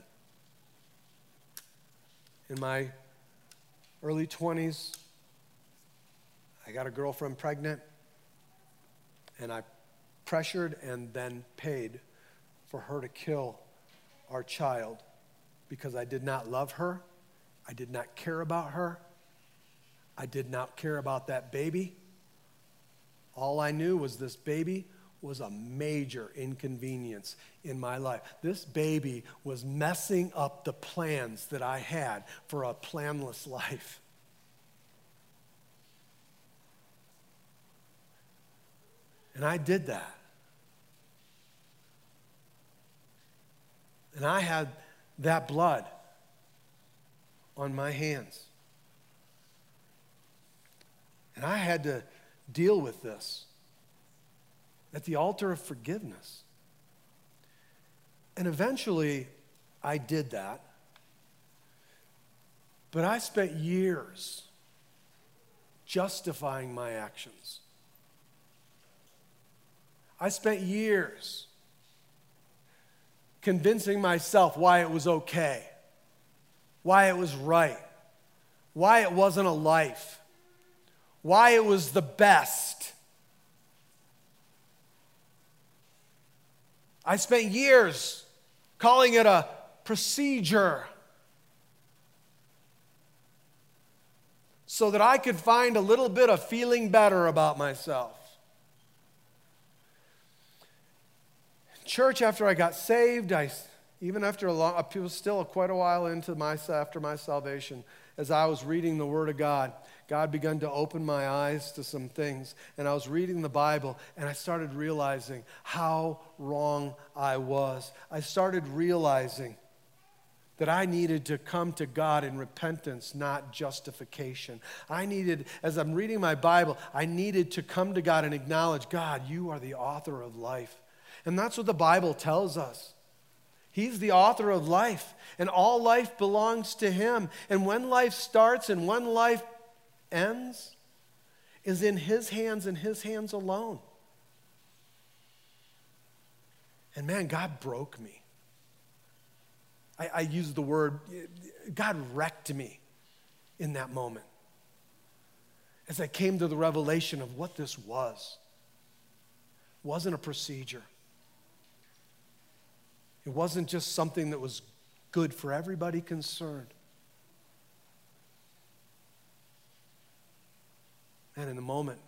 In my early twenties, I got a girlfriend pregnant, and I pressured and then paid for her to kill our child. Because I did not love her, I did not care about her, I did not care about that baby. All I knew was this baby was a major inconvenience in my life. This baby was messing up the plans that I had for a planless life. And I did that. And I had that blood on my hands. And I had to deal with this at the altar of forgiveness. And eventually, I did that. But I spent years justifying my actions. I spent years convincing myself why it was okay, why it was right, why it wasn't a life, why it was the best. I spent years calling it a procedure so that I could find a little bit of feeling better about myself. Church, after I got saved, I, even after a long, it was still quite a while into my, after my salvation, as I was reading the Word of God, God began to open my eyes to some things. And I was reading the Bible, and I started realizing how wrong I was. I started realizing that I needed to come to God in repentance, not justification. I needed, as I'm reading my Bible, I needed to come to God and acknowledge, God, you are the author of life. And that's what the Bible tells us. He's the author of life, and all life belongs to him. And when life starts and when life ends is in his hands and his hands alone. And man, God broke me. I, I use the word, God wrecked me in that moment as I came to the revelation of what this was. It wasn't a procedure. It wasn't just something that was good for everybody concerned. And in the moment,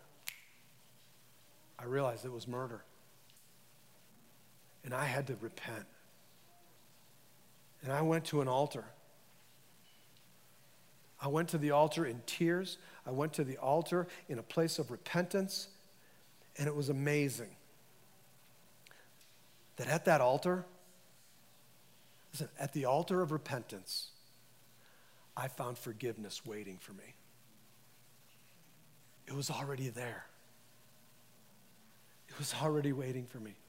I realized it was murder. And I had to repent. And I went to an altar. I went to the altar in tears. I went to the altar in a place of repentance. And it was amazing that at that altar, listen, at the altar of repentance, I found forgiveness waiting for me. It was already there. It was already waiting for me.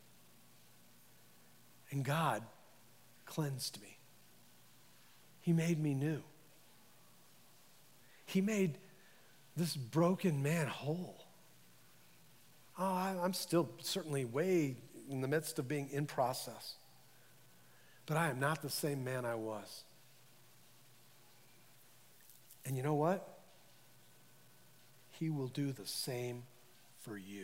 And God cleansed me. He made me new. He made this broken man whole. Oh, I, I'm still certainly way in the midst of being in process. But I am not the same man I was. And you know what? He will do the same for you.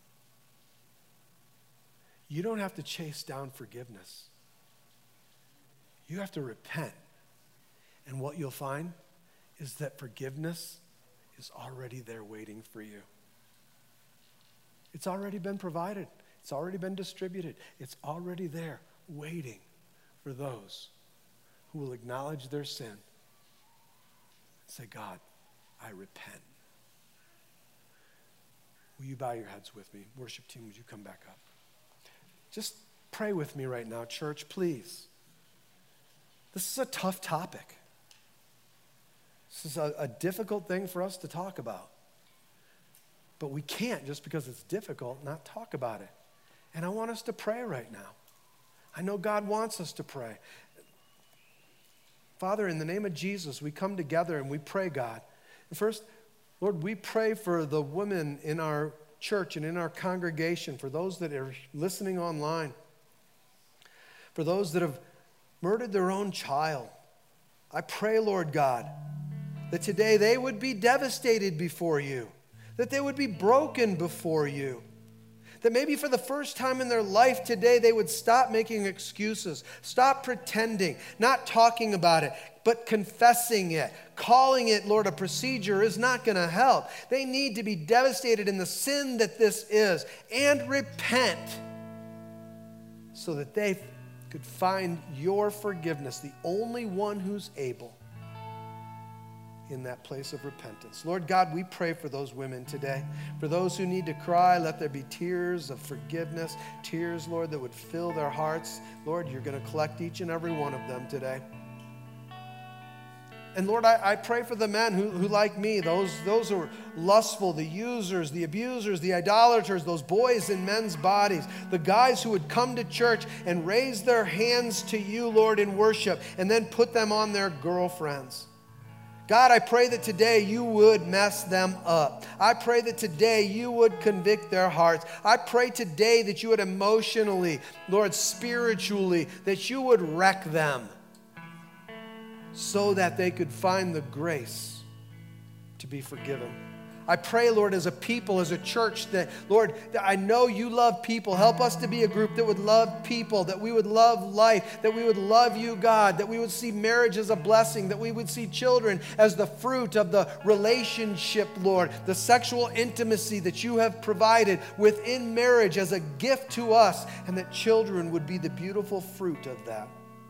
You don't have to chase down forgiveness. You have to repent. And what you'll find is that forgiveness is already there waiting for you. It's already been provided. It's already been distributed. It's already there waiting for those who will acknowledge their sin and say, God, I repent. Will you bow your heads with me? Worship team, would you come back up? Just pray with me right now, church, please. This is a tough topic. This is a, a difficult thing for us to talk about. But we can't, just because it's difficult, not talk about it. And I want us to pray right now. I know God wants us to pray. Father, in the name of Jesus, we come together and we pray, God. And first, Lord, we pray for the women in our church and in our congregation, for those that are listening online, for those that have murdered their own child. I pray, Lord God, that today they would be devastated before you, that they would be broken before you, that maybe for the first time in their life today they would stop making excuses, stop pretending, not talking about it, but confessing it. Calling it, Lord, a procedure is not going to help. They need to be devastated in the sin that this is and repent so that they could find your forgiveness, the only one who's able, in that place of repentance. Lord God, we pray for those women today. For those who need to cry, let there be tears of forgiveness, tears, Lord, that would fill their hearts. Lord, you're going to collect each and every one of them today. And Lord, I, I pray for the men who, who like me, those, those who are lustful, the users, the abusers, the idolaters, those boys in men's bodies, the guys who would come to church and raise their hands to you, Lord, in worship, and then put them on their girlfriends. God, I pray that today you would mess them up. I pray that today you would convict their hearts. I pray today that you would emotionally, Lord, spiritually, that you would wreck them so that they could find the grace to be forgiven. I pray, Lord, as a people, as a church, that, Lord, that I know you love people. Help us to be a group that would love people, that we would love life, that we would love you, God, that we would see marriage as a blessing, that we would see children as the fruit of the relationship, Lord, the sexual intimacy that you have provided within marriage as a gift to us, and that children would be the beautiful fruit of that.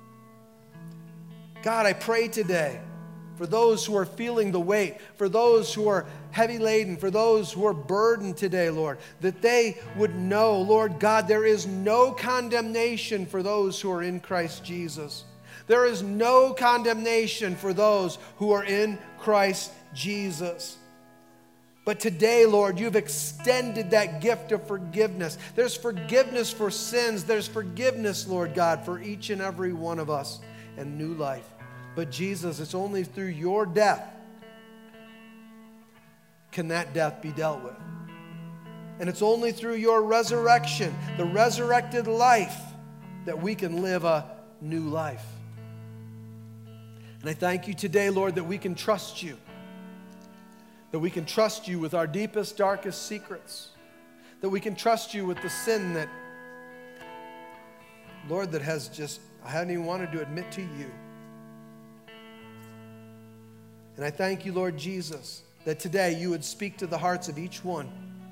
God, I pray today for those who are feeling the weight, for those who are heavy laden, for those who are burdened today, Lord, that they would know, Lord God, there is no condemnation for those who are in Christ Jesus. There is no condemnation for those who are in Christ Jesus. But today, Lord, you've extended that gift of forgiveness. There's forgiveness for sins. There's forgiveness, Lord God, for each and every one of us, and new life. But Jesus, it's only through your death can that death be dealt with. And it's only through your resurrection, the resurrected life, that we can live a new life. And I thank you today, Lord, that we can trust you. That we can trust you with our deepest, darkest secrets. That we can trust you with the sin that, Lord, that has just, I haven't even wanted to admit to you. And I thank you, Lord Jesus, that today you would speak to the hearts of each one.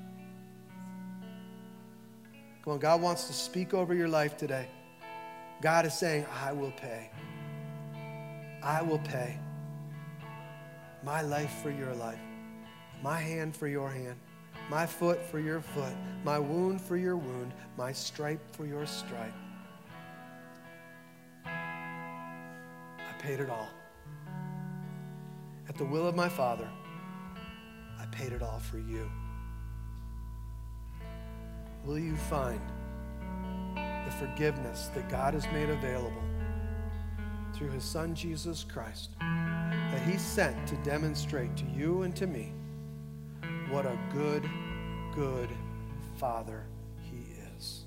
Come on, God wants to speak over your life today. God is saying, I will pay. I will pay. My life for your life. My hand for your hand. My foot for your foot. My wound for your wound. My stripe for your stripe. I paid it all. At the will of my Father, I paid it all for you. Will you find the forgiveness that God has made available through his Son, Jesus Christ, that he sent to demonstrate to you and to me what a good, good Father he is.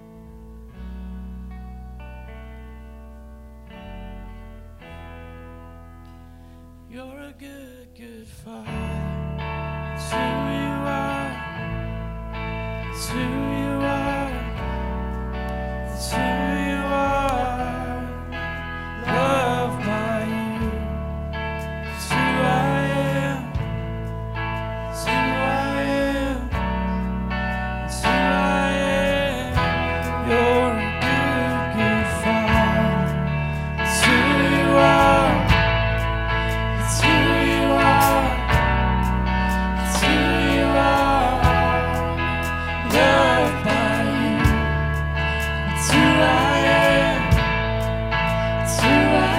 You're a good, good Father. It's who you are. It's who you are. It's who you are. Loved by you. It's who I am. It's who I am. It's who I am. You're a good, good Father. It's who you are. It's who you are. It's who you are. Loved by you. It's who I am. It's who I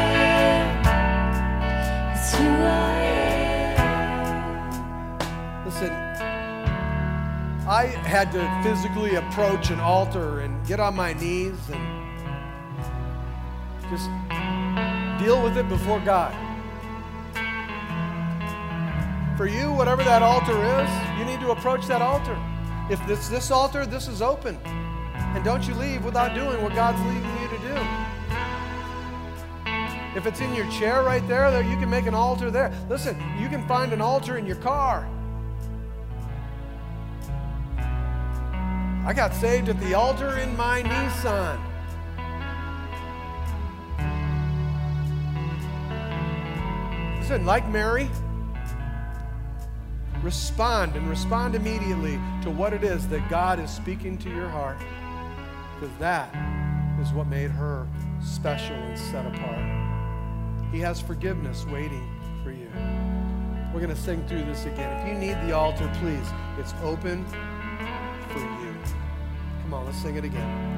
am. It's who I am. Listen, I had to physically approach an altar and get on my knees and just deal with it before God. For you, whatever that altar is, you need to approach that altar. If it's this altar, this is open. And don't you leave without doing what God's leading you to do. If it's in your chair right there, there you can make an altar there. Listen, you can find an altar in your car. I got saved at the altar in my Nissan. Listen, like Mary, respond and respond immediately to what it is that God is speaking to your heart, because that is what made her special and set apart. He has forgiveness waiting for you. We're going to sing through this again. If you need the altar, please, it's open for you. Come on, let's sing it again.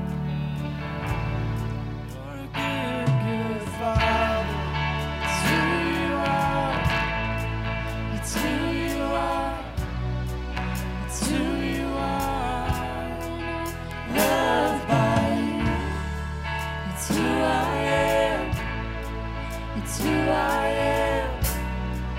You're a good, good Father. It's who you are. It's who you are. It's who you are. Loved by you. It's who I am. It's who I am.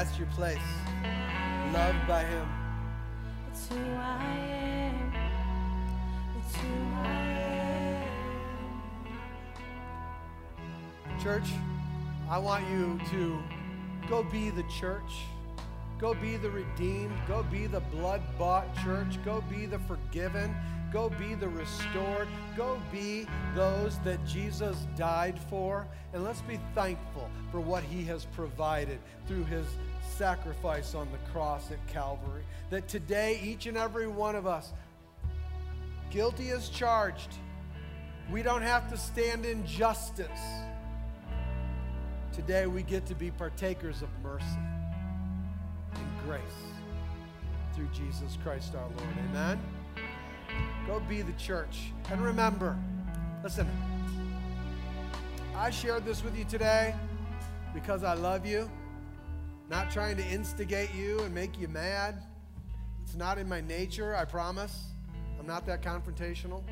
That's your place. Loved by him. It's who I am. It's who I am. Church, I want you to go be the church. Go be the redeemed. Go be the blood-bought church. Go be the forgiven. Go be the restored. Go be those that Jesus died for. And let's be thankful for what he has provided through his sacrifice on the cross at Calvary. That today, each and every one of us, guilty as charged, we don't have to stand in justice. Today, we get to be partakers of mercy and grace through Jesus Christ our Lord. Amen? Go be the church. And remember, listen, I shared this with you today because I love you, not trying to instigate you and make you mad. It's not in my nature, I promise. I'm not that confrontational.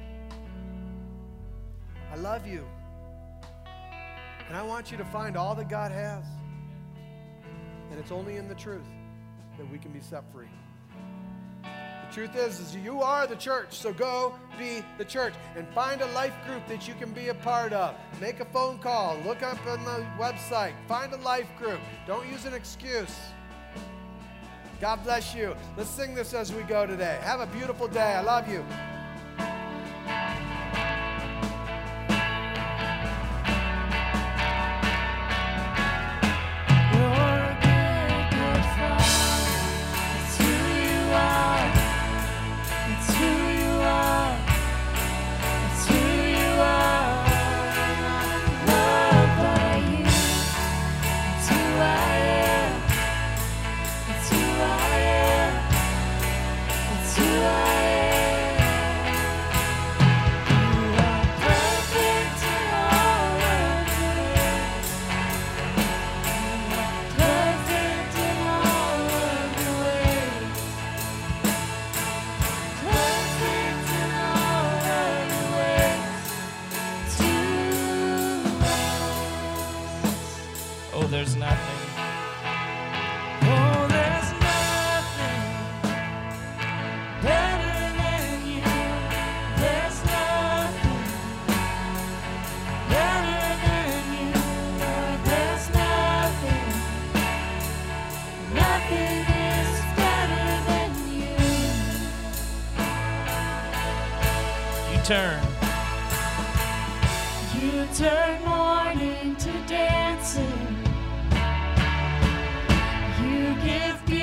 I love you. And I want you to find all that God has. And it's only in the truth that we can be set free. The truth is, is you are the church, so go be the church and find a life group that you can be a part of. Make a phone call, look up on the website, find a life group. Don't use an excuse. God bless you. Let's sing this as we go today. Have a beautiful day. I love you. There's nothing. Oh, there's nothing better than you. There's nothing better than you. Lord, there's nothing. Nothing is better than you. You turn. You turn mourning to dancing. You give beauty